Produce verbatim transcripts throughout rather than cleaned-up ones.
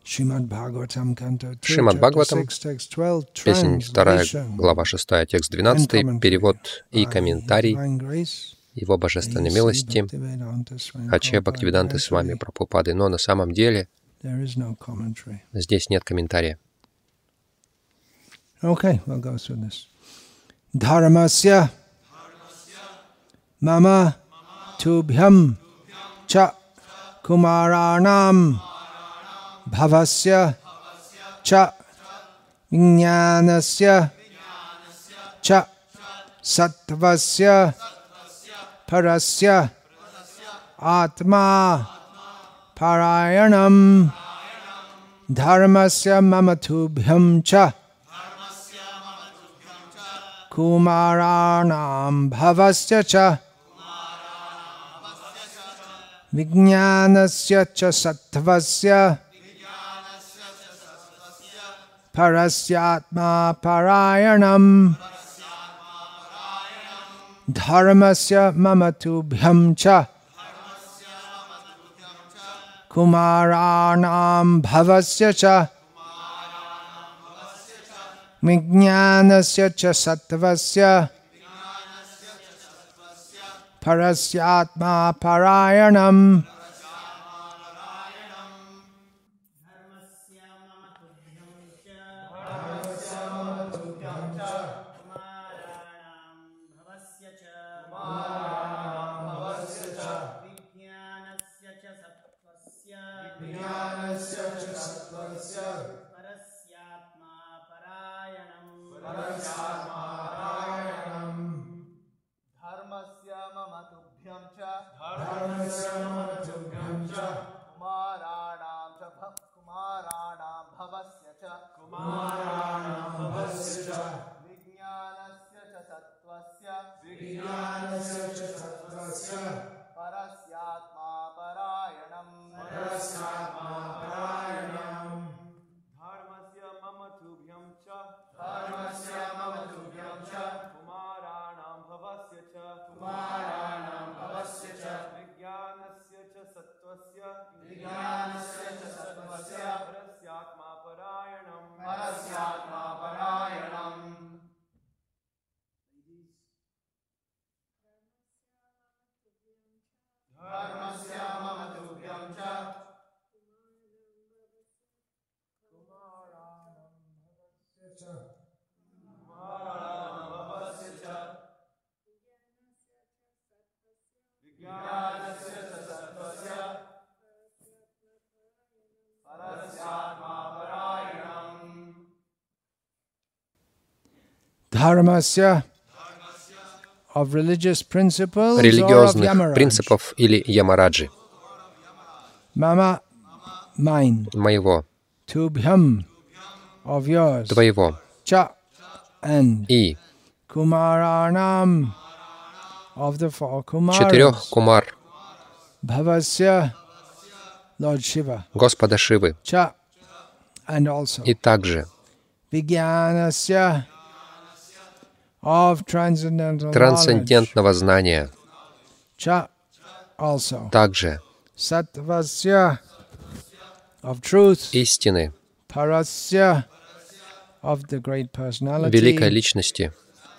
Шримад Бхагаватам, песнь вторая, глава шестая, текст двенадцатый, перевод и комментарий Его Божественной милости, Аче Бхактивиданты с вами Прабхупады. Но на самом деле здесь нет комментария. Okay, we'll go through this. Dharmasya mama tubhyam cha kumaranam bhavasya cha vijnanasya cha sattvasya parasya atma parayanam dharmasya mama tubhyam cha Kumaranam bhavasya cha Vijnanasya cha sattvasya Parasyatma parayanam Dharmasya mamatubhyam cha Kumaranam bhavasya cha Vijnanasya cha sattvasya Parasyatma parayanam религиозных принципов или ямараджи, моего, твоего и четырех кумар Господа Шивы, и также трансцендентного знания, также истины, великой личности,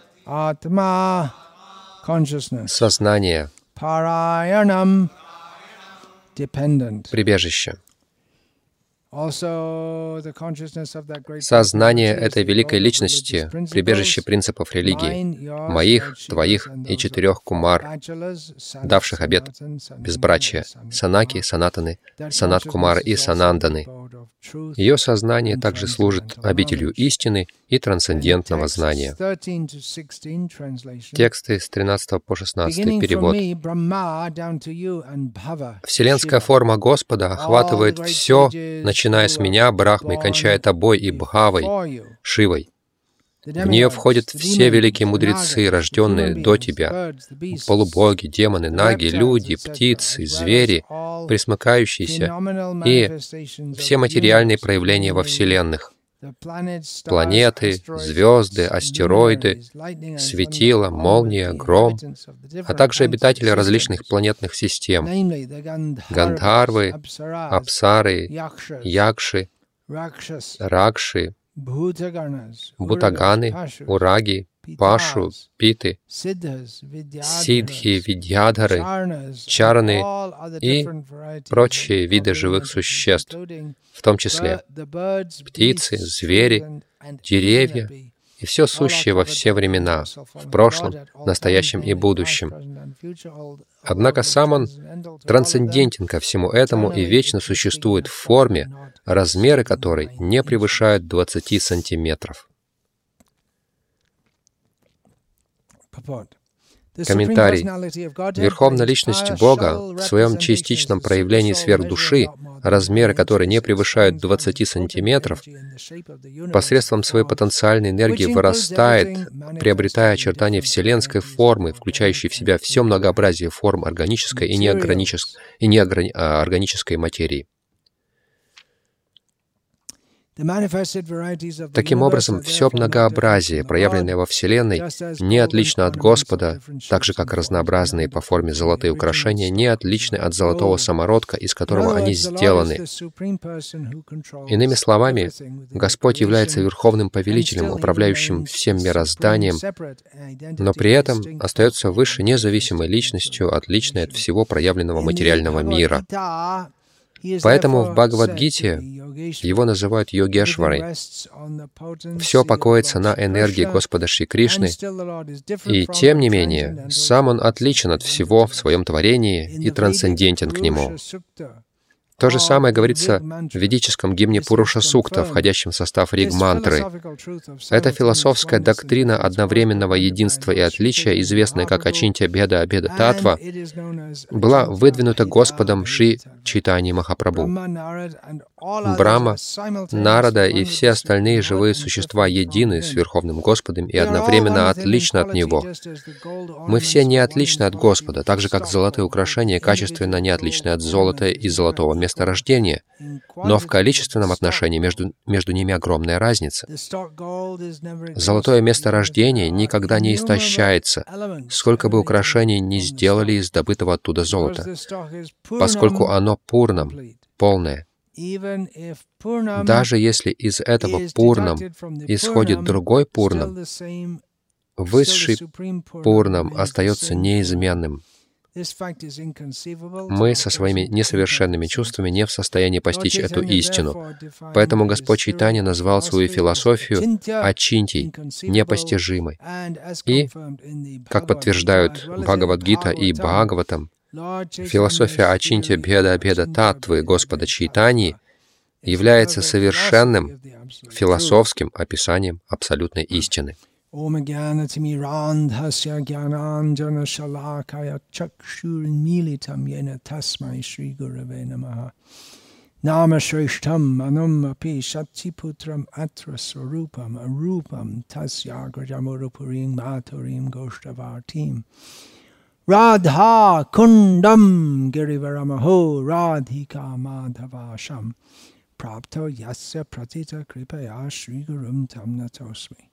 сознание, прибежище. Сознание этой великой личности, прибежище принципов религии, моих, твоих и четырех кумар, давших обет безбрачия, Санаки, Санатаны, Санат-Кумары и Сананданы. Ее сознание также служит обителью истины и трансцендентного знания. Тексты с тринадцатого по шестнадцатый, перевод. Вселенская форма Господа охватывает все, начиная с меня, Брахмой, кончая тобой и Бхавой, Шивой. В нее входят все великие мудрецы, рожденные до тебя, полубоги, демоны, наги, люди, птицы, звери, пресмыкающиеся, и все материальные проявления во вселенных. Планеты, звезды, астероиды, светила, молния, гром, а также обитатели различных планетных систем, гандхарвы, апсары, якши, Ракши, Бутаганы, Ураги, Пашу, Питы, Сиддхи, Видьядхары, Чарны и прочие виды живых существ, в том числе птицы, звери, деревья и все сущее во все времена, в прошлом, настоящем и будущем. Однако сам он трансцендентен ко всему этому и вечно существует в форме, размеры которой не превышают двадцати сантиметров. Комментарий. Верховная Личность Бога в своем частичном проявлении сверхдуши, размеры которой не превышают двадцати сантиметров, посредством своей потенциальной энергии вырастает, приобретая очертания вселенской формы, включающей в себя все многообразие форм органической и неорганической, и неорганической материи. Таким образом, все многообразие, проявленное во Вселенной, не отлично от Господа, так же, как разнообразные по форме золотые украшения не отличны от золотого самородка, из которого они сделаны. Иными словами, Господь является Верховным Повелителем, управляющим всем мирозданием, но при этом остается выше независимой личностью, отличной от всего проявленного материального мира. Поэтому в Бхагавад-гите его называют Йогешварой. Все покоится на энергии Господа Шри Кришны, и тем не менее, сам он отличен от всего в своем творении и трансцендентен к нему. То же самое говорится в ведическом гимне Пуруша Сукта, входящем в состав Риг-мантры. Эта философская доктрина одновременного единства и отличия, известная как Ачинтья Беда Абеда Татва, была выдвинута Господом Шри Чайтаньей Махапрабху. Брахма, Нарада и все остальные живые существа едины с Верховным Господом и одновременно отличны от Него. Мы все не отличны от Господа, так же, как золотые украшения качественно не отличны от золота и золотого месторождения, но в количественном отношении между, между ними огромная разница. Золотое месторождение никогда не истощается, сколько бы украшений ни сделали из добытого оттуда золота, поскольку оно пурнам, полное. Даже если из этого пурнам исходит другой пурнам, высший пурнам остается неизменным. Мы со своими несовершенными чувствами не в состоянии постичь эту истину. Поэтому Господь Чайтанья назвал свою философию Ачинтьей, непостижимой. И, как подтверждают Бхагавад-гита и Бхагаватам, философия Ачинтья Беда Абеда Татвы Господа Чайтаньи является совершенным философским описанием абсолютной истины. Ом Гьянатимирандхасья Гьянанджана Шалакая Чакшурмилитам Йена Тасмай Шри Гураве Намаха Нама Шриштам Манум Апи Шатипутрам Atra Swarupam Arupam Tasya Grajamurupurим Maturim Goshtavatim Radha Kundam Girivaramaho Radhika Madhavasham Prapto Yasya Pratita Kripaya Shri Gurum Tam Natosmi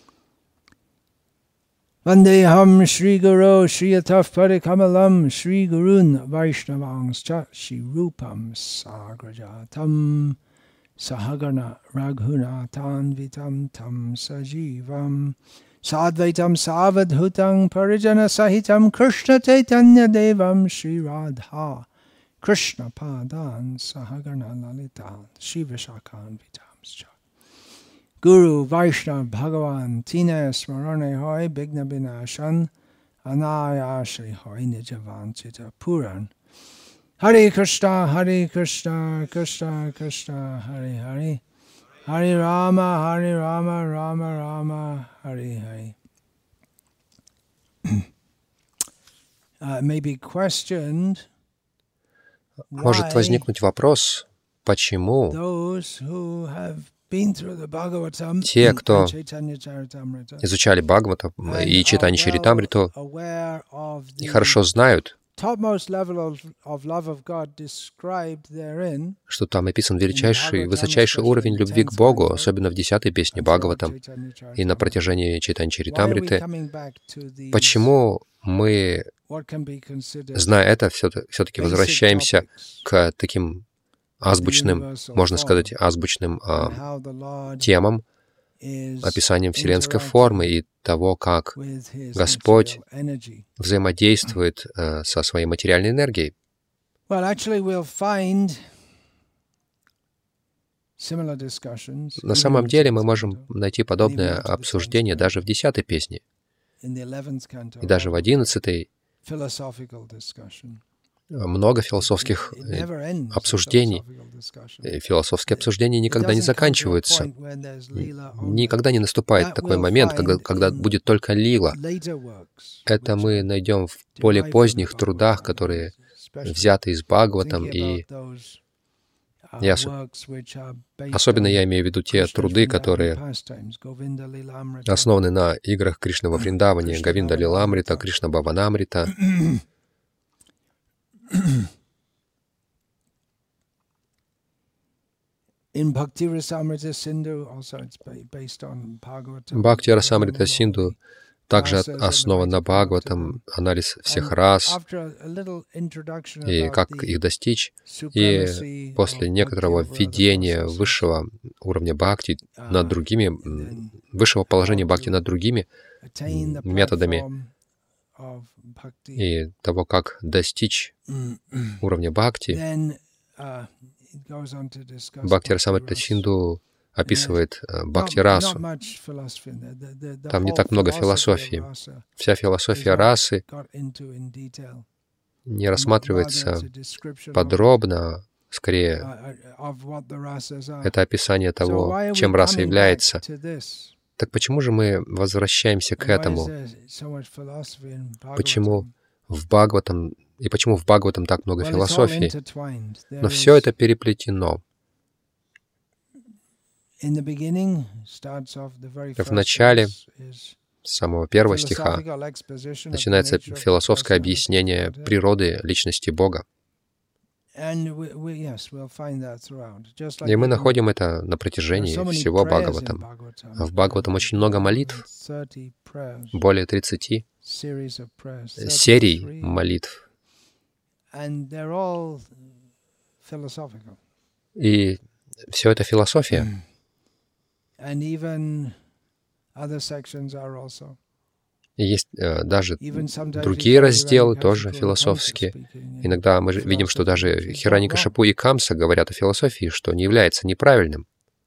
Vandeham Shri Guru Shri Ataf Parikamalam Shri Gurun Vaishnavangscha Shri Rupam Sagrajatam Sahagana Raghunatan Vitam Tam Sajivam Sadvaitam Savadhutam Parijana Sahitam Krishna Chaitanya Devam Shri Radha Krishna Padan Sahagana Lalitan Shri Vishakhan Vitamscha Guru Vaishnav Bhagavan Tina Smarane Hoy Bigna Binashan Anayashri Hoy Nijavanchita Puran Hare Krishna Hare Krishna Krishna Krishna Hare Hare Hare Rama Hare Rama Rama Rama Hare Hare uh, may be questioned. Может возникнуть вопрос, почему те, кто изучали Бхагавата и Чайтанья Чаритамриту, и хорошо знают, что там описан величайший, высочайший уровень любви к Богу, особенно в десятой песне Бхагаватам и на протяжении Чайтанья Чаритамриты. Почему мы, зная это, все-таки возвращаемся к таким азбучным, можно сказать, азбучным а, темам, описанием вселенской формы и того, как Господь взаимодействует а, со своей материальной энергией. На самом деле мы можем найти подобное обсуждение даже в десятой песне, и даже в одиннадцатой. Много философских обсуждений. Философские обсуждения никогда не заканчиваются. Никогда не наступает такой момент, когда, когда будет только лила. Это мы найдем в более поздних трудах, которые взяты из Бхагаватам, и я, особенно я имею в виду те труды, которые основаны на играх Кришны во Вриндаване, Говинда Лиламрита, Кришна Бхаванамрита. Бхакти Расамрита Синду также основан на Бхагаватам, анализ всех рас и как их достичь. И после некоторого введения высшего уровня бхакти над другими, высшего положения бхакти над другими методами и того, как достичь уровня бхакти, Бхакти Расамрита Синду описывает бхакти-расу. Там не так много философии. Вся философия расы не рассматривается подробно, скорее, это описание того, чем раса является. Так почему же мы возвращаемся к этому? Почему в Бхагаватам, и почему в Бхагаватам так много философии? Но все это переплетено. В начале, с самого первого стиха, начинается философское объяснение природы личности Бога. И мы находим это на протяжении всего Бхагаватам. В Бхагаватам очень много молитв, более тридцати серий молитв. И все это философия. И есть э, даже другие разделы, тоже философские. Иногда мы видим, что даже Хираньякашипу и Камса говорят о философии, что не является неправильным.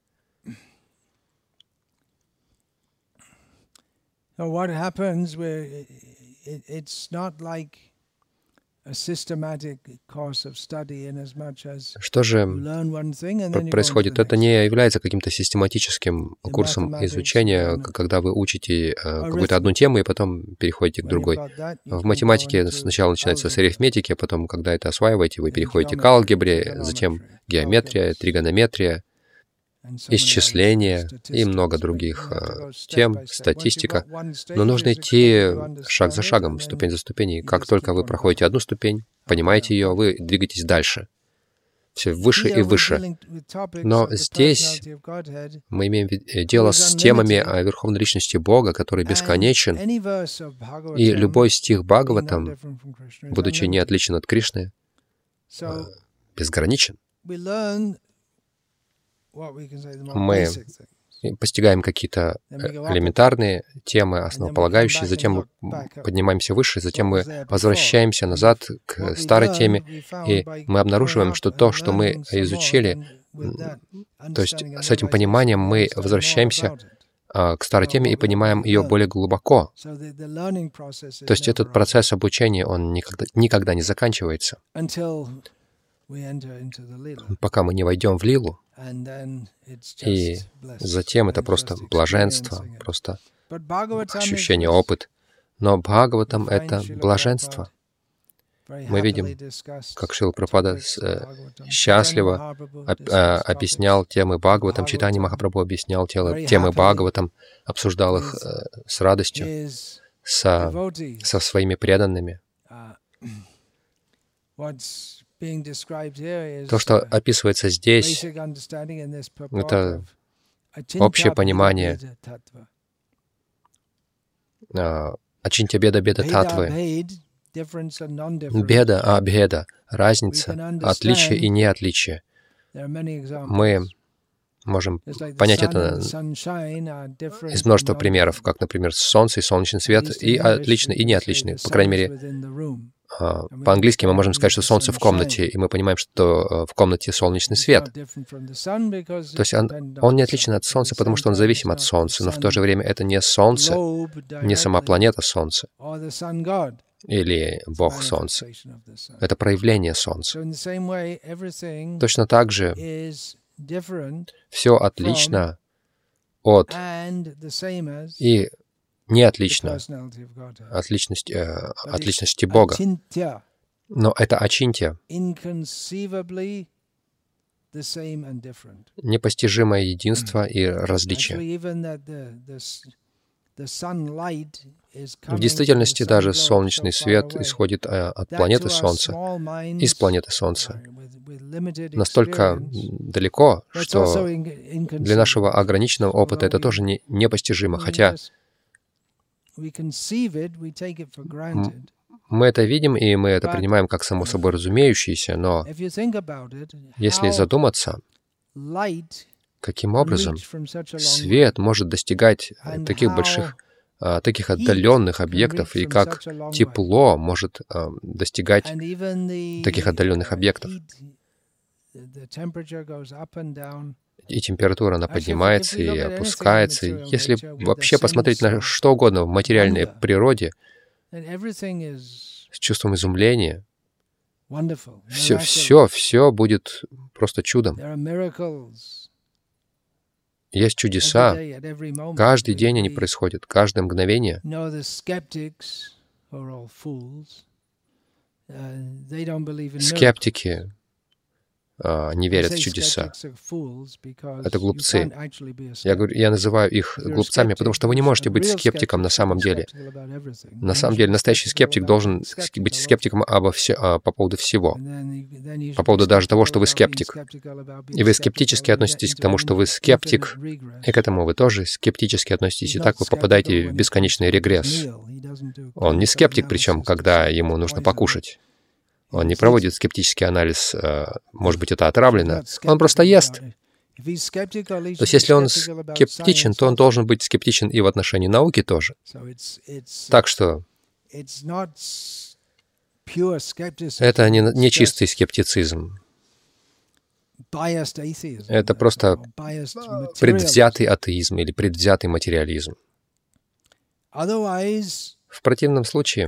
Что же происходит? Это не является каким-то систематическим курсом изучения, когда вы учите какую-то одну тему и потом переходите к другой. В математике сначала начинается с арифметики, а потом, когда это осваиваете, вы переходите к алгебре, затем геометрия, тригонометрия, исчисление и много других э, тем, статистика. Но нужно идти шаг за шагом, ступень за ступеней. Как только вы проходите одну ступень, понимаете ее, вы двигаетесь дальше. Все выше и выше. Но здесь мы имеем дело с темами о Верховной Личности Бога, который бесконечен. И любой стих Бхагаватам, будучи не отличен от Кришны, безграничен. Мы постигаем какие-то элементарные темы, основополагающие, затем мы поднимаемся выше, затем мы возвращаемся назад к старой теме, и мы обнаруживаем, что то, что мы изучили, то есть с этим пониманием мы возвращаемся к старой теме и понимаем ее более глубоко. То есть этот процесс обучения, он никогда, никогда не заканчивается, пока мы не войдем в лилу. И затем это просто блаженство, просто ощущение, опыт. Но Бхагаватам — это блаженство. Мы видим, как Шрила Прабхупада счастливо объяснял темы Бхагаватам, Чайтанья Махапрабху объяснял темы Бхагаватам, обсуждал их с радостью, со, со своими преданными. То, что описывается здесь, это общее понимание Ачинтя Беда Беда Татвы. Беда, абхеда, разница, отличие и неотличие. Мы можем понять это из множества примеров, как, например, солнце и солнечный свет, и отличный, и неотличный. По крайней мере, по-английски мы можем сказать, что солнце в комнате, и мы понимаем, что в комнате солнечный свет. То есть он, он не отличен от солнца, потому что он зависим от солнца, но в то же время это не солнце, не сама планета Солнце или Бог Солнце. Это проявление Солнца. Точно так же все отлично от и не отлично от личности, э, от личности Бога. Но это ачинтья, непостижимое единство и различие. В действительности даже солнечный свет исходит от планеты Солнца, из планеты Солнца, настолько далеко, что для нашего ограниченного опыта это тоже не, непостижимо, хотя мы это видим, и мы это принимаем как само собой разумеющееся, но если задуматься, каким образом свет может достигать таких больших, таких отдаленных объектов, и как тепло может достигать таких отдаленных объектов. И температура, она поднимается и опускается. И если вообще посмотреть на что угодно в материальной природе, с чувством изумления, все, все, все будет просто чудом. Есть чудеса. Каждый день они происходят, каждое мгновение. Скептики не верят в чудеса. Это глупцы. Я, говорю, я называю их глупцами, потому что вы не можете быть скептиком на самом деле. На самом деле, настоящий скептик должен быть скептиком обо все, по поводу всего. По поводу даже того, что вы скептик. И вы скептически относитесь к тому, что вы скептик, и к этому вы тоже скептически относитесь. И так вы попадаете в бесконечный регресс. Он не скептик, причем, когда ему нужно покушать. Он не проводит скептический анализ, может быть, это отравлено. Он просто ест. То есть, если он скептичен, то он должен быть скептичен и в отношении науки тоже. Так что это не, не чистый скептицизм. Это просто предвзятый атеизм или предвзятый материализм. В противном случае,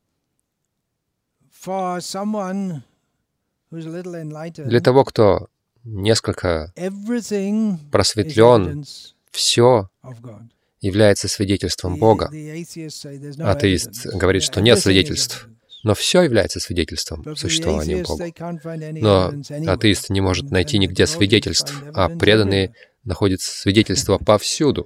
для того, кто несколько просветлен, все является свидетельством Бога. Атеист говорит, что нет свидетельств, но все является свидетельством существования Бога. Но атеист не может найти нигде свидетельств, а преданные находят свидетельства повсюду.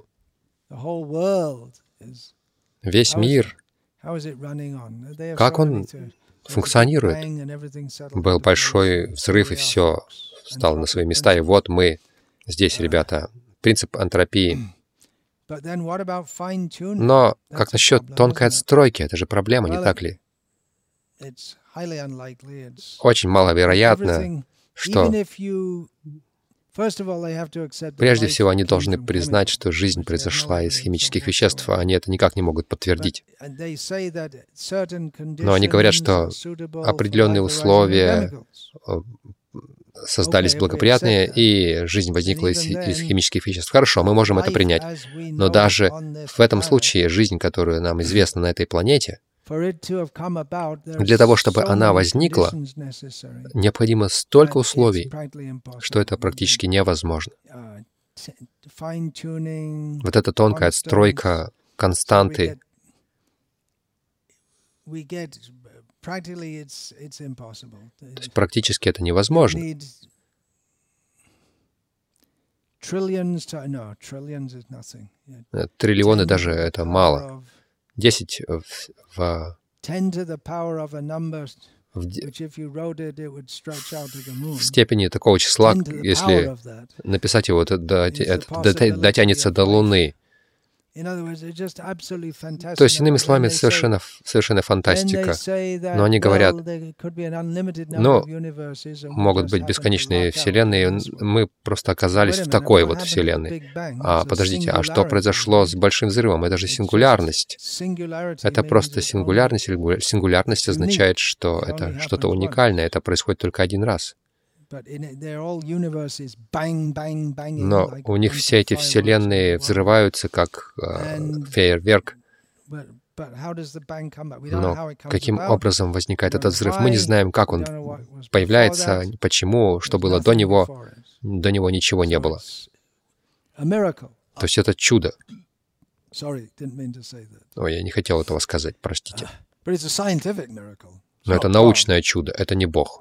Весь мир, как он функционирует. Был большой взрыв, и все стало на свои места. И вот мы здесь, ребята. Принцип энтропии. Но как насчет тонкой отстройки? Это же проблема, не так ли? Очень маловероятно, что прежде всего они должны признать, что жизнь произошла из химических веществ, а они это никак не могут подтвердить. Но они говорят, что определенные условия создались благоприятные, и жизнь возникла из, из химических веществ. Хорошо, мы можем это принять. Но даже в этом случае жизнь, которая нам известна на этой планете, для того, чтобы она возникла, необходимо столько условий, что это практически невозможно. Вот эта тонкая отстройка, константы, то есть практически это невозможно. Триллионы даже это мало. Десять в, в, в, в степени такого числа, если написать его, это, это дотянется до Луны. То есть, иными словами, совершенно, совершенно фантастика. Но они говорят, ну, могут быть бесконечные вселенные, мы просто оказались в такой вот вселенной. А подождите, а что произошло с Большим взрывом? Это же сингулярность. Это просто сингулярность. Сингулярность означает, что это что-то уникальное, это происходит только один раз. Но у них все эти вселенные взрываются как э, фейерверк. Но каким образом возникает этот взрыв? Мы не знаем, как он появляется, почему, что было до него. До него ничего не было. То есть это чудо. Ой, я не хотел этого сказать, простите. Но это научное чудо, это не Бог.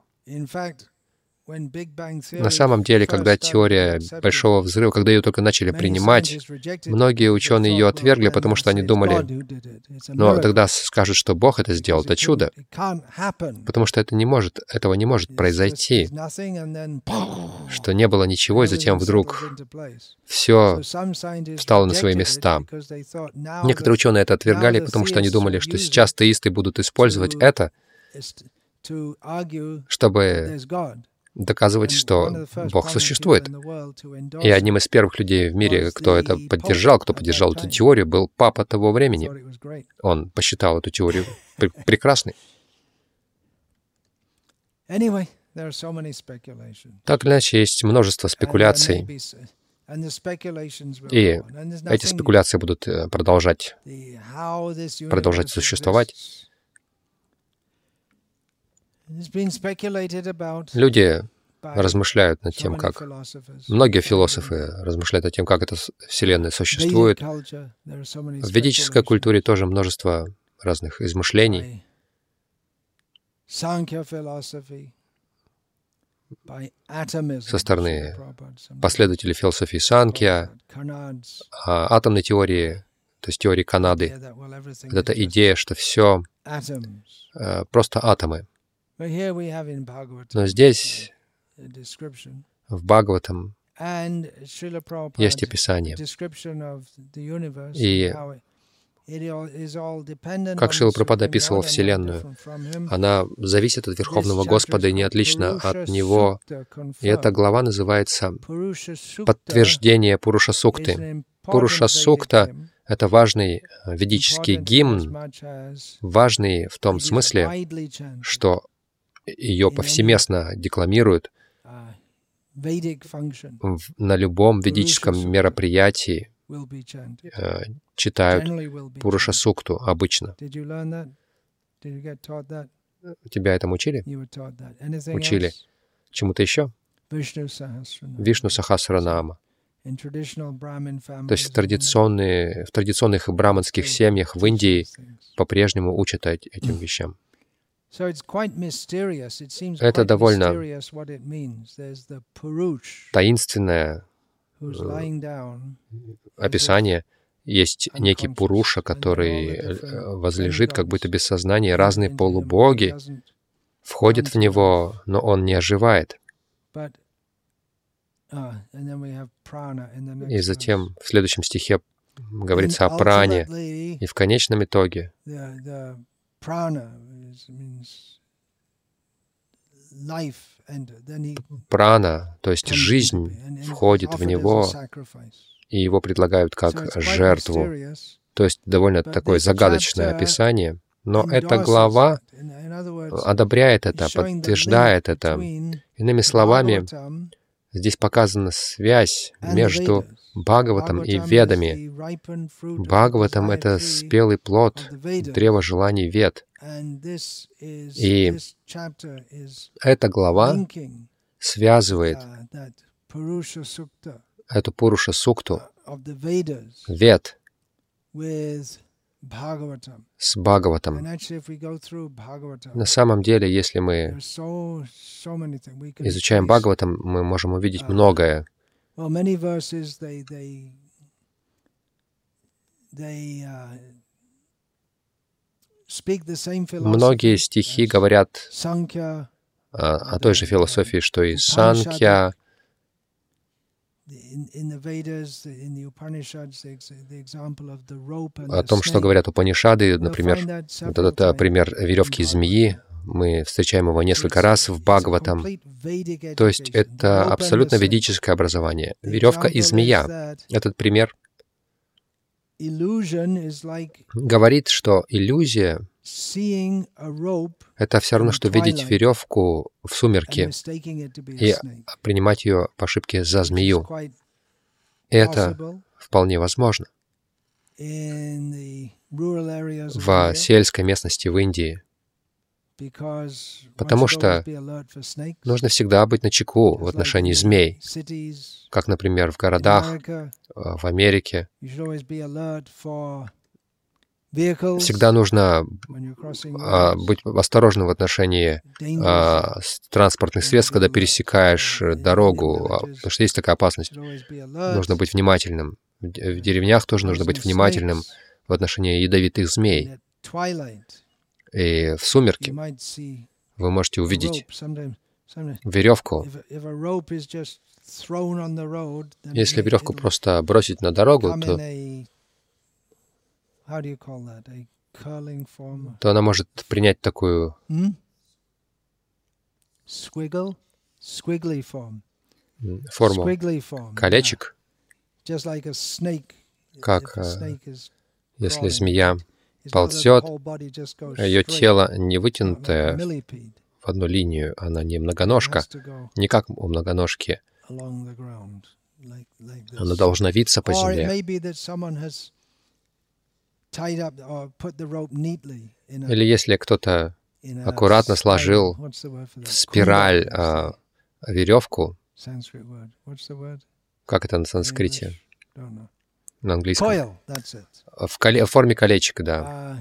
На самом деле, когда теория Большого взрыва, когда ее только начали принимать, многие ученые ее отвергли, потому что они думали, но тогда скажут, что Бог это сделал, это чудо, потому что это не может, этого не может произойти, что не было ничего, и затем вдруг все встало на свои места. Некоторые ученые это отвергали, потому что они думали, что сейчас теисты будут использовать это, чтобы доказывать, что Бог существует. И одним из первых людей в мире, кто это поддержал, кто поддержал эту теорию, был папа того времени. Он посчитал эту теорию пр- прекрасной. Так или иначе, есть множество спекуляций, и эти спекуляции будут продолжать, продолжать существовать. Люди размышляют над тем, как... Многие философы размышляют над тем, как эта Вселенная существует. В ведической культуре тоже множество разных измышлений. Со стороны последователей философии Санкья, атомной теории, то есть теории Канады. Вот эта идея, что все просто атомы. Но здесь, в Бхагаватам, есть описание. И как Шрила Прабхупада описывал Вселенную, она зависит от Верховного Господа и не отлична от Него. И эта глава называется «Подтверждение Пуруша Сукты». Пуруша Сукта — это важный ведический гимн, важный в том смысле, что ее повсеместно декламируют на любом ведическом мероприятии, э, читают Пуруша Сукту обычно. Тебя этому учили? Учили. Чему-то еще? Вишну Сахасранама. То есть в, традиционные, в традиционных браманских семьях в Индии по-прежнему учат этим вещам. Это довольно таинственное описание. Есть некий Пуруша, который возлежит как будто без сознания. Разные полубоги входят в него, но он не оживает. И затем в следующем стихе говорится о пране. И в конечном итоге прана, то есть жизнь, входит в него, и его предлагают как жертву. То есть довольно такое загадочное описание. Но эта глава одобряет это, подтверждает это. Иными словами, здесь показана связь между Бхагаватам и Ведами. Бхагаватам — это спелый плод древа желаний Вед. И эта глава связывает эту Пуруша Сукту Вед с Бхагаватам. На самом деле, если мы изучаем Бхагаватам, мы можем увидеть многое. Многие стихи говорят о, о той же философии, что и Санкья, о том, что говорят Упанишады, например, вот этот пример веревки и змеи, мы встречаем его несколько раз в Бхагаватам. То есть это абсолютно ведическое образование. Веревка и змея. Этот пример говорит, что иллюзия — это все равно, что видеть веревку в сумерки и принимать ее по ошибке за змею. Это вполне возможно. В сельской местности в Индии. Потому что нужно всегда быть начеку в отношении змей, как, например, в городах, в Америке. Всегда нужно а, быть осторожным в отношении а, транспортных средств, когда пересекаешь дорогу, а, потому что есть такая опасность. Нужно быть внимательным. В деревнях тоже нужно быть внимательным в отношении ядовитых змей. И в сумерки вы можете увидеть веревку. Если веревку просто бросить на дорогу, то, то она может принять такую форму колечек, как если змея ползет, ее тело не вытянутое в одну линию, она не многоножка, не как у многоножки. Она должна виться по земле. Или если кто-то аккуратно сложил в спираль а, веревку, как это на санскрите? На английском. В, коле... в форме колечек, да.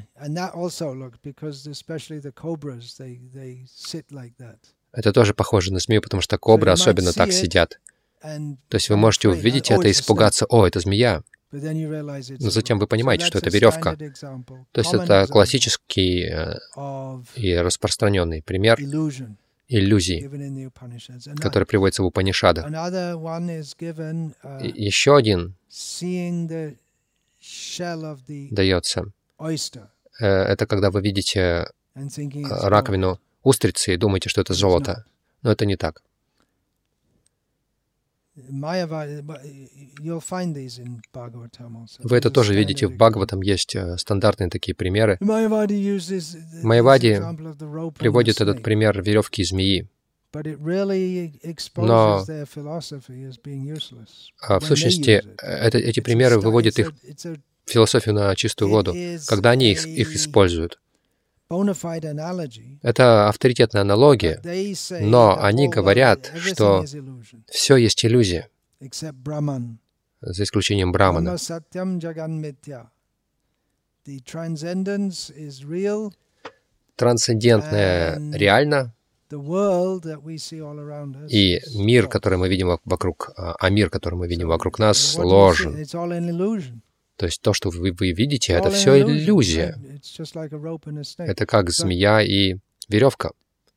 Это тоже похоже на змею, потому что кобры особенно так сидят. То есть вы можете увидеть это и испугаться: «О, это змея». Но затем вы понимаете, что это веревка. То есть это классический и распространенный пример иллюзий, который приводится в Упанишадах. И еще один дается. Это когда вы видите раковину устрицы и думаете, что это золото. Но это не так. Вы это тоже видите в Бхагаватам, есть стандартные такие примеры. Майявади приводит этот пример веревки и змеи. Но в сущности это, эти примеры выводят их философию на чистую воду, когда они их, их используют. Это авторитетная аналогия, но они говорят, что все есть иллюзия, за исключением Брамана. Трансцендентное реально, и мир, который мы видим вокруг, а мир, который мы видим вокруг нас, ложен. То есть то, что вы, вы видите, это все иллюзия. Это как змея и веревка.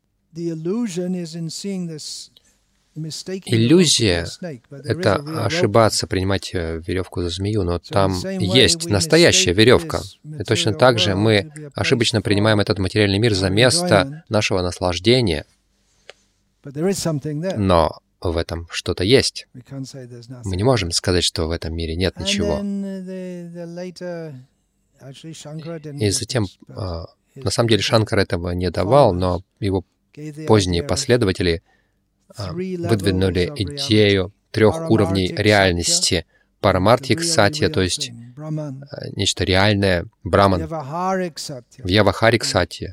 Иллюзия — это ошибаться, принимать веревку за змею, но там есть настоящая веревка. И точно так же мы ошибочно принимаем этот материальный мир за место нашего наслаждения. Но в этом что-то есть. Мы не можем сказать, что в этом мире нет ничего. И затем, на самом деле, Шанкар этого не давал, но его поздние последователи выдвинули идею трех уровней реальности. Парамартхик сатья, то есть нечто реальное, браман. Вьявахарик сатья.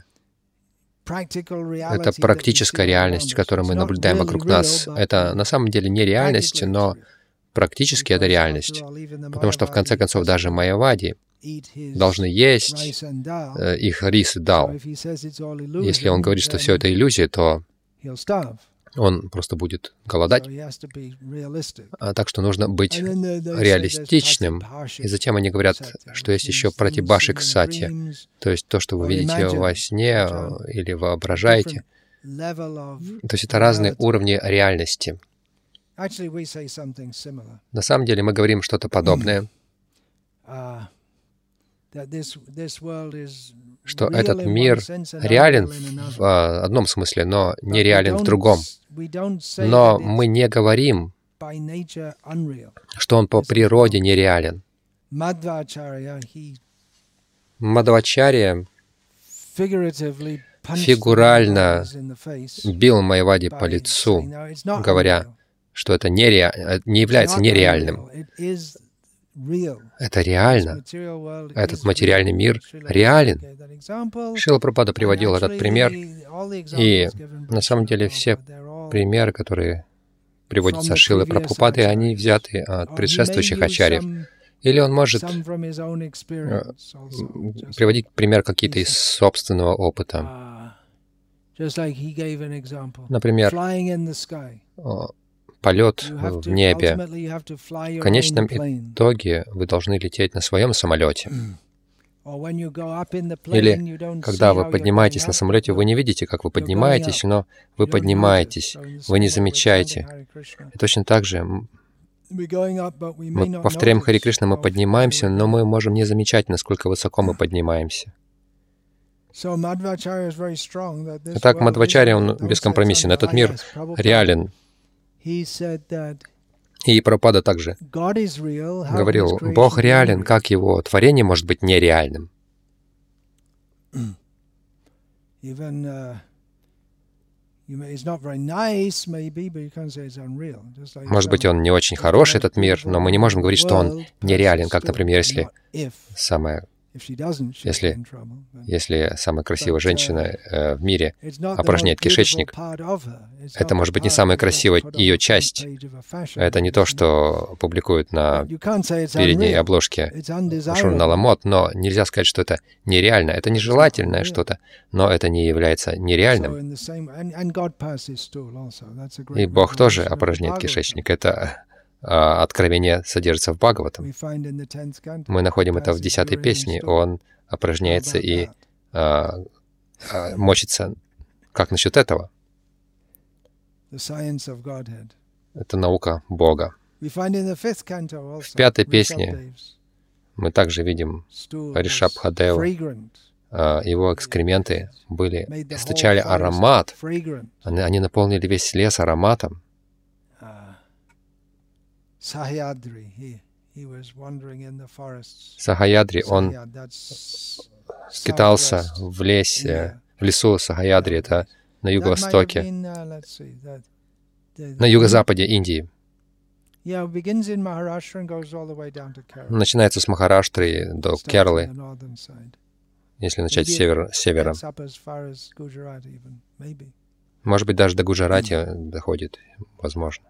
Это практическая реальность, которую мы наблюдаем вокруг нас. Это на самом деле не реальность, но практически это реальность. Потому что, в конце концов, даже майявади должны есть их рис и дал. Если он говорит, что все это иллюзия, то он просто будет голодать. А так что нужно быть реалистичным. И затем они говорят, что есть еще пратибашик сатья, то есть то, что вы видите во сне или воображаете. То есть это разные уровни реальности. На самом деле мы говорим что-то подобное, что этот мир реален в одном смысле, но нереален в другом. Но мы не говорим, что он по природе нереален. Мадхвачарья фигурально бил Майявади по лицу, говоря, что это нере... не является нереальным. Это реально. Этот материальный мир реален. Шрила Прабхупада приводил этот пример, и на самом деле все примеры, которые приводятся Шрилой Прабхупадой, они взяты от предшествующих ачарьев. Или он может приводить пример какие-то из собственного опыта. Например, полет в небе. В конечном итоге вы должны лететь на своем самолете. Или когда вы поднимаетесь на самолете, вы не видите, как вы поднимаетесь, но вы поднимаетесь, вы не замечаете. И точно так же мы повторяем Хари Кришна, мы поднимаемся, но мы можем не замечать, насколько высоко мы поднимаемся. Итак, Мадхвачарья, он бескомпромиссен. Этот мир реален. И Прабхупада также говорил, Бог реален, как Его творение может быть нереальным. Может быть, он не очень хороший, этот мир, но мы не можем говорить, что он нереален, как, например, если самая, если, если самая красивая женщина э, в мире опорожняет кишечник, это может быть не самая красивая ее часть. Это не то, что публикуют на передней обложке журнала мод, но нельзя сказать, что это нереально. Это нежелательное что-то, но это не является нереальным. И Бог тоже опорожняет кишечник. Это откровение содержится в Бхагаватам. Мы находим это в десятой песне. Он опорожняется и а, а, мочится. Как насчет этого? Это наука Бога. В пятой песне мы также видим Ришабхадеву. Его экскременты были, источали аромат. Они, они наполнили весь лес ароматом. Сахаядри, он скитался в лесе, в лесу Сахаядри, это на юго-востоке, на юго-западе Индии. Начинается с Махараштры до Кералы, если начать с севера, севера. Может быть, даже до Гуджарати доходит, возможно.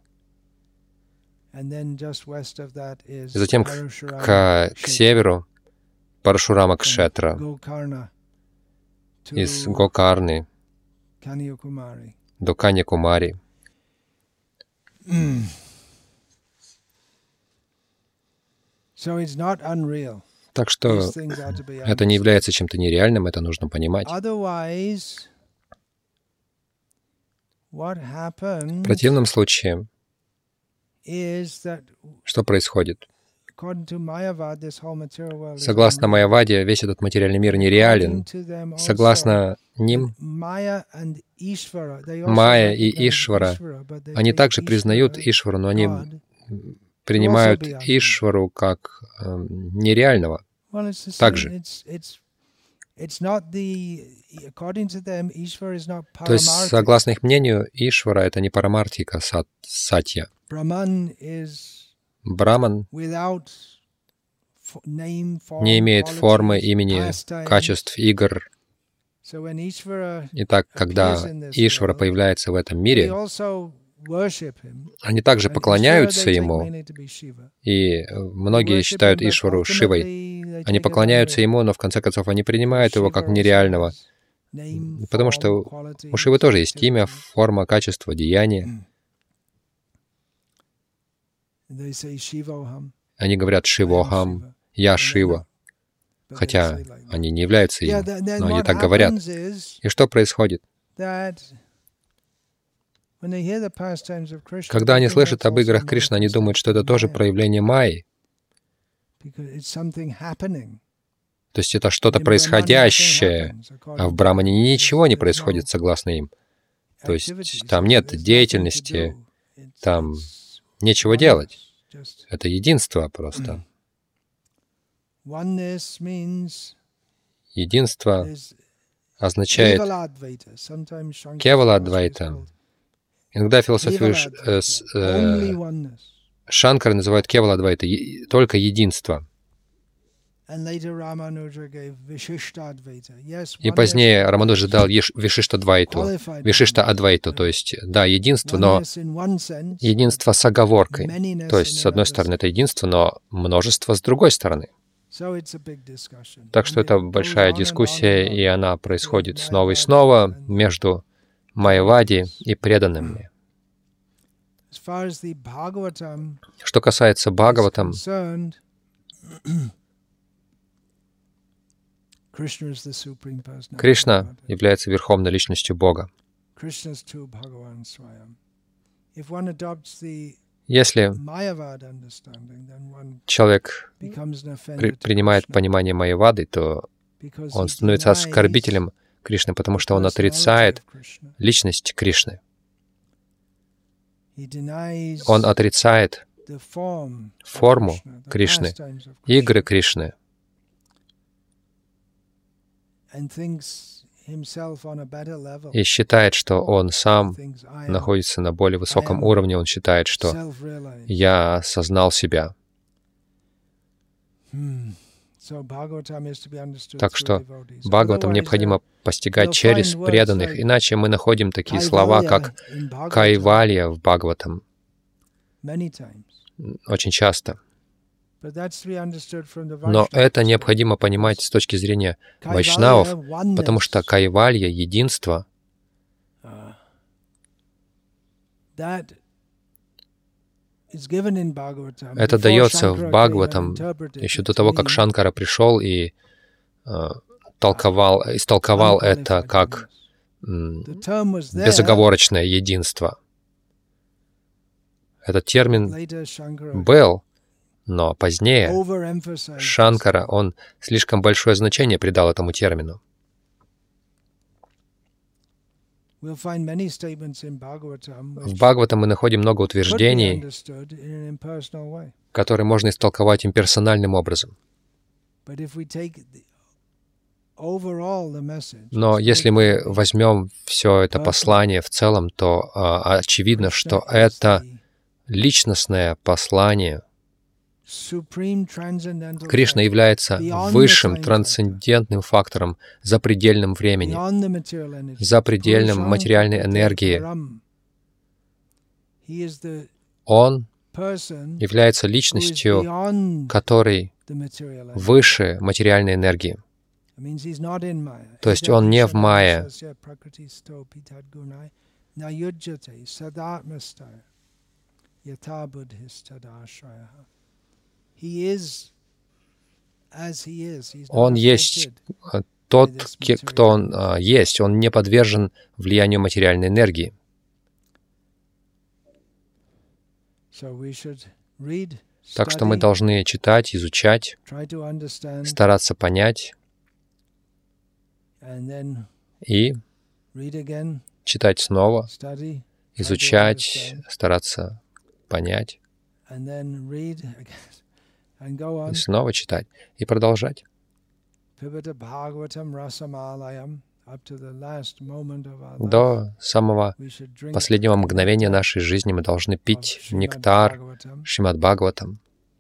И затем к, к, к северу Парашурама Кшетра, из Гокарны до Каньякумари. Так что это не является чем-то нереальным, это нужно понимать. В противном случае, что происходит? Согласно Майяваде, весь этот материальный мир нереален. Согласно ним, Майя и Ишвара, они также признают Ишвару, но они принимают Ишвару как э, нереального. Также. То есть, согласно их мнению, Ишвара — это не парамартика, сат, сатья. Браман не имеет формы, имени, качеств, игр. Итак, когда Ишвара появляется в этом мире, они также поклоняются Ему, и многие считают Ишвару Шивой. Они поклоняются Ему, но в конце концов они принимают Его как нереального, потому что у Шивы тоже есть имя, форма, качество, деяние. Они говорят «Шивохам», «Я Шива», хотя они не являются им, но они так говорят. И что происходит? Когда они слышат об играх Кришны, они думают, что это тоже проявление майи. То есть это что-то происходящее, а в Брамане ничего не происходит согласно им. То есть там нет деятельности, там нечего делать. Это единство просто. Единство означает Кевала-адвайта. Иногда философию э, э, Шанкара называют Кевала-адвайта, только единство. И позднее Рамануджа дал Вишишта-адвайту, Вишишта-адвайту, то есть, да, единство, но единство с оговоркой. То есть, с одной стороны, это единство, но множество с другой стороны. Так что это большая дискуссия, и она происходит снова и снова между майявади и преданными. Что касается Бхагаватам, Кришна является верховной личностью Бога. Если человек при, принимает понимание майявады, то он становится оскорбителем Кришны, потому что он отрицает личность Кришны. Он отрицает форму Кришны, игры Кришны, и считает, что он сам находится на более высоком уровне. Он считает, что я осознал себя. Так что Бхагаватам необходимо постигать через преданных, иначе мы находим такие слова, как кайвалья в Бхагаватам очень часто. Но это необходимо понимать с точки зрения вайшнавов, потому что кайвалья, единство, это дается в Бхагаватам еще до того, как Шанкара пришел и э, толковал, истолковал это как м, безоговорочное единство. Этот термин был, но позднее Шанкара, он слишком большое значение придал этому термину. В Бхагаватам мы находим много утверждений, которые можно истолковать имперсональным образом. Но если мы возьмем все это послание в целом, то а, очевидно, что это личностное послание. Кришна является высшим трансцендентным фактором за предельным временем, за предельным материальной энергией. Он является личностью, которой выше материальной энергии. То есть он не в майе. Он есть тот, кто он есть. Он не подвержен влиянию материальной энергии. Так что мы должны читать, изучать, стараться понять и читать снова, изучать, стараться понять, и снова читать, и продолжать. До самого последнего мгновения нашей жизни мы должны пить нектар Шримад Бхагаватам.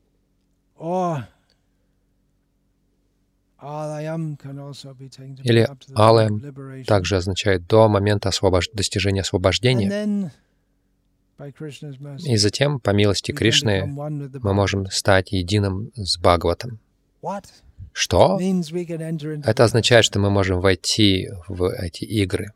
Или алаям также означает до момента освобож... достижения освобождения. И затем, по милости Кришны, мы можем стать единым с Бхагаватом. Что? Это означает, что мы можем войти в эти игры.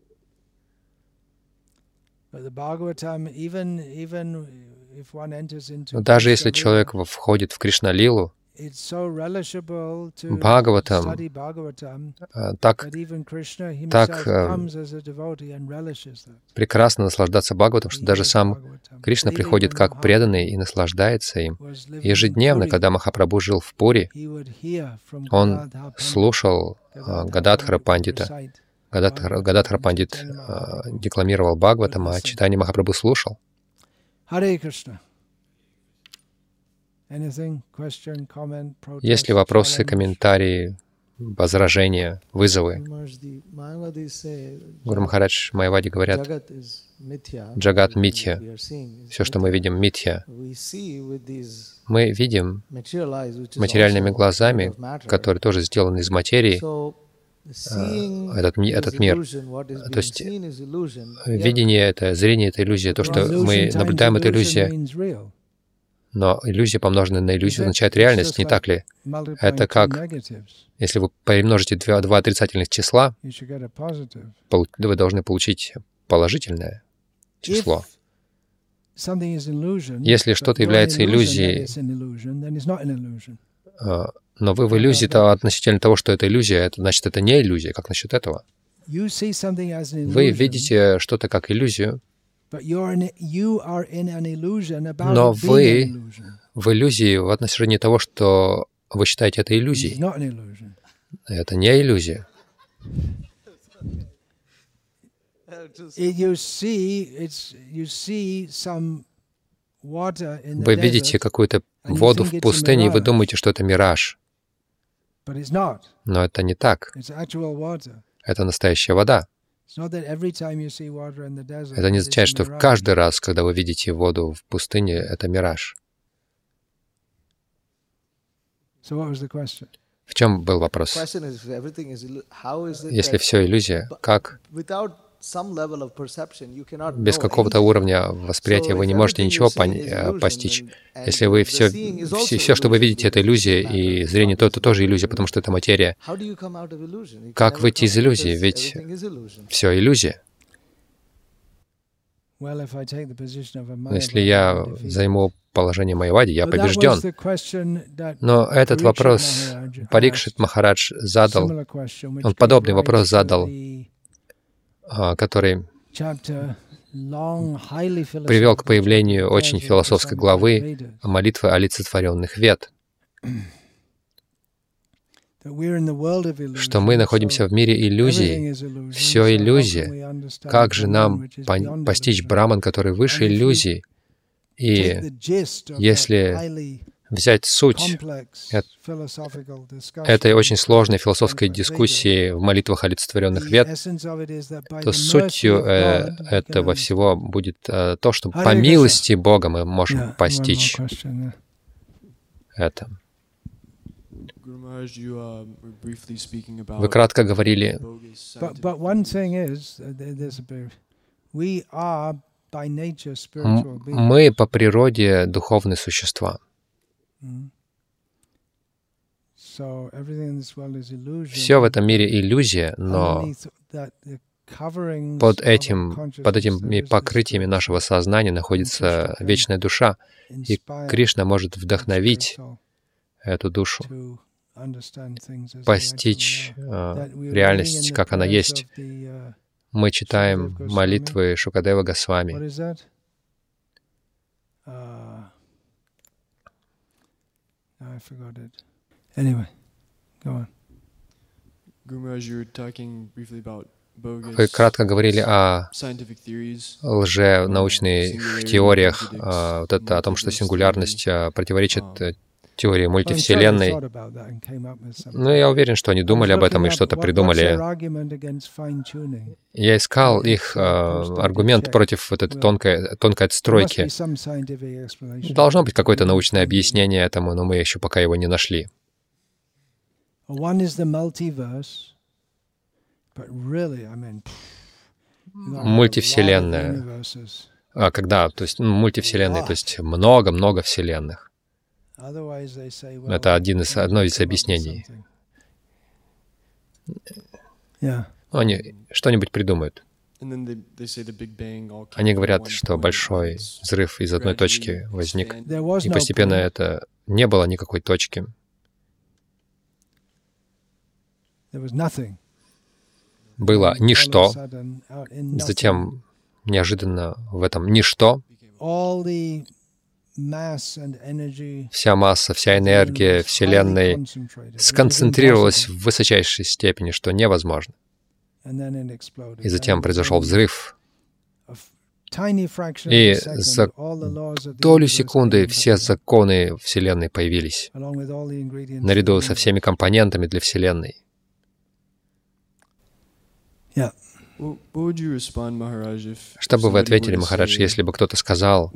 Но даже если человек входит в Кришна-лилу, Бхагаватам так, так прекрасно наслаждаться Бхагаватам, что даже сам Кришна приходит как преданный и наслаждается им. Ежедневно, когда Махапрабху жил в Пури, он слушал Гададхара Пандита. Гададхара, Гададхара Пандит декламировал Бхагаватам, а Чайтанья Махапрабху слушал. Есть ли вопросы, комментарии, возражения, вызовы? Гуру Махарадж, Майявади говорят, Джагат митья. Все, что мы видим, митья. Мы видим материальными глазами, которые тоже сделаны из материи, этот, этот мир. То есть видение — это, зрение — это иллюзия. То, что мы наблюдаем, это иллюзия. Но иллюзия, помноженная на иллюзию, означает реальность, не так ли? Это как, если вы помножите два, два отрицательных числа, вы должны получить положительное число. Если что-то является иллюзией, но вы в иллюзии то относительно того, что это иллюзия, это значит, это не иллюзия. Как насчет этого? Вы видите что-то как иллюзию, но вы в иллюзии в отношении того, что вы считаете это иллюзией. Это не иллюзия. Вы видите какую-то воду в пустыне, и вы думаете, что это мираж. Но это не так. Это настоящая вода. Это не означает, что каждый раз, когда вы видите воду в пустыне, это мираж. В чем был вопрос? Если все иллюзия, как? Без какого-то уровня восприятия вы не можете ничего постичь. Если вы все, все, все, что вы видите, это иллюзия, и зрение то, это тоже иллюзия, потому что это материя. Как выйти из иллюзии? Ведь все иллюзия. Если я займу положение Майявади, я побежден. Но этот вопрос Парикшит Махарадж задал, он подобный вопрос задал, который привел к появлению очень философской главы молитвы олицетворенных Вед, что мы находимся в мире иллюзий, все иллюзия. Как же нам постичь Браман, который выше иллюзий? И если взять суть этой очень сложной философской дискуссии в молитвах олицетворенных Вед, то сутью э, этого всего будет э, то, что по милости Бога мы можем постичь это. Вы кратко говорили, мы по природе духовные существа. Все в этом мире иллюзия, но под, этим, под этими покрытиями нашего сознания находится вечная душа, и Кришна может вдохновить эту душу, постичь э, реальность, как она есть. Мы читаем молитвы Шукадева Госвами. I forgot it. Anyway, go on. Вы кратко говорили о лженаучных теориях, вот это, о том, что сингулярность противоречит теории мультивселенной. Но я уверен, что они думали об этом и что-то придумали. Я искал их э, аргумент против вот этой тонкой, тонкой отстройки. Должно быть какое-то научное объяснение этому, но мы еще пока его не нашли. Мультивселенная. А когда? То есть ну, мультивселенная, то есть много-много вселенных. Это один из, одно из объяснений. Они что-нибудь придумают. Они говорят, что большой взрыв из одной точки возник, и постепенно это не было никакой точки. было ничто, затем неожиданно в этом ничто вся масса, вся энергия Вселенной сконцентрировалась в высочайшей степени, что невозможно. И затем произошел взрыв. И за долю секунды все законы Вселенной появились, наряду со всеми компонентами для Вселенной. Что бы вы ответили, Махарадж, если бы кто-то сказал: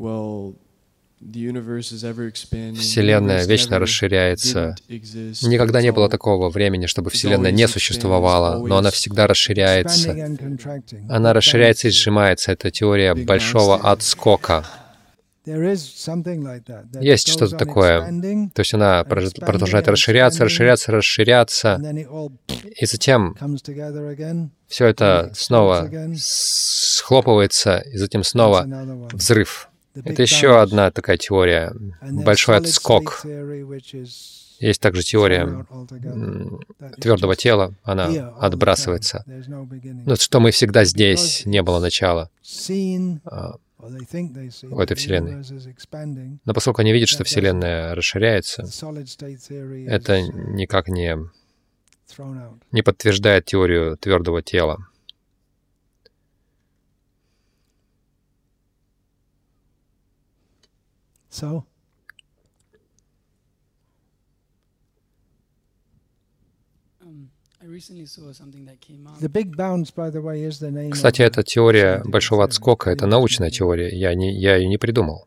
Вселенная вечно расширяется. Никогда не было такого времени, чтобы Вселенная не существовала, но она всегда расширяется. Она расширяется и сжимается. Это теория большого отскока. Есть что-то такое. То есть она продолжает расширяться, расширяться, расширяться, и затем все это снова схлопывается, и затем снова взрыв. Это еще одна такая теория, большой отскок. Есть также теория твердого тела, она отбрасывается. Ну, что мы всегда здесь, не было начала в этой Вселенной. Но поскольку они видят, что Вселенная расширяется, это никак не, не подтверждает теорию твердого тела. So, Кстати, эта теория большого отскока — это научная теория. Я, не, я ее не придумал.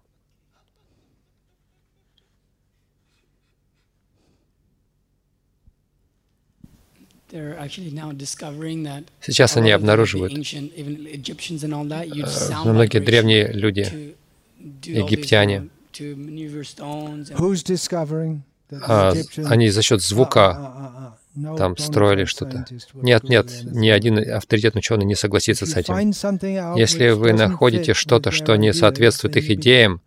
Сейчас они обнаруживают, многие древние люди, египтяне, а, они за счет звука там строили что-то. Нет, нет, ни один авторитетный ученый не согласится с этим. Если вы находите что-то, что не соответствует их идеям,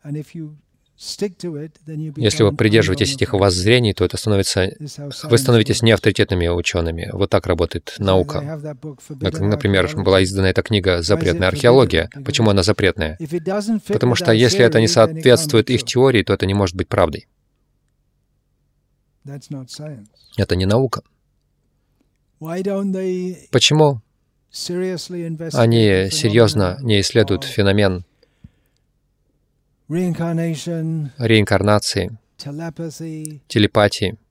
если вы придерживаетесь этих воззрений, то это становится, вы становитесь неавторитетными учеными. Вот так работает наука. Например, была издана эта книга «Запретная археология». Почему она запретная? Потому что если это не соответствует их теории, то это не может быть правдой. Это не наука. Почему они серьезно не исследуют феномен реинкарнации, телепатии,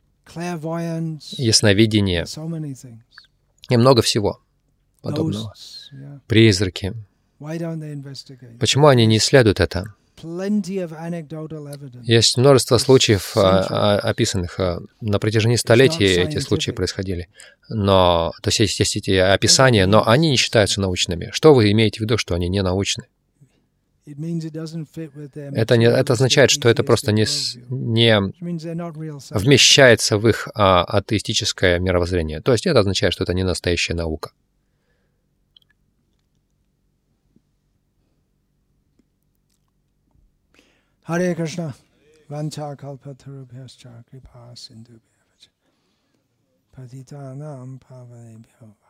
ясновидения и много всего подобного? Призраки. Почему они не исследуют это? Есть множество случаев, описанных. На протяжении столетий эти случаи происходили. Но, то есть, есть эти описания, но они не считаются научными. Что вы имеете в виду, что они не научны? Это, не, это означает, что это просто не, не вмещается в их а, атеистическое мировоззрение. То есть это означает, что это не настоящая наука. Харе Кришна. Ванча калпатарубхясча крипа синдубхясча. Патитанам паванебхyo.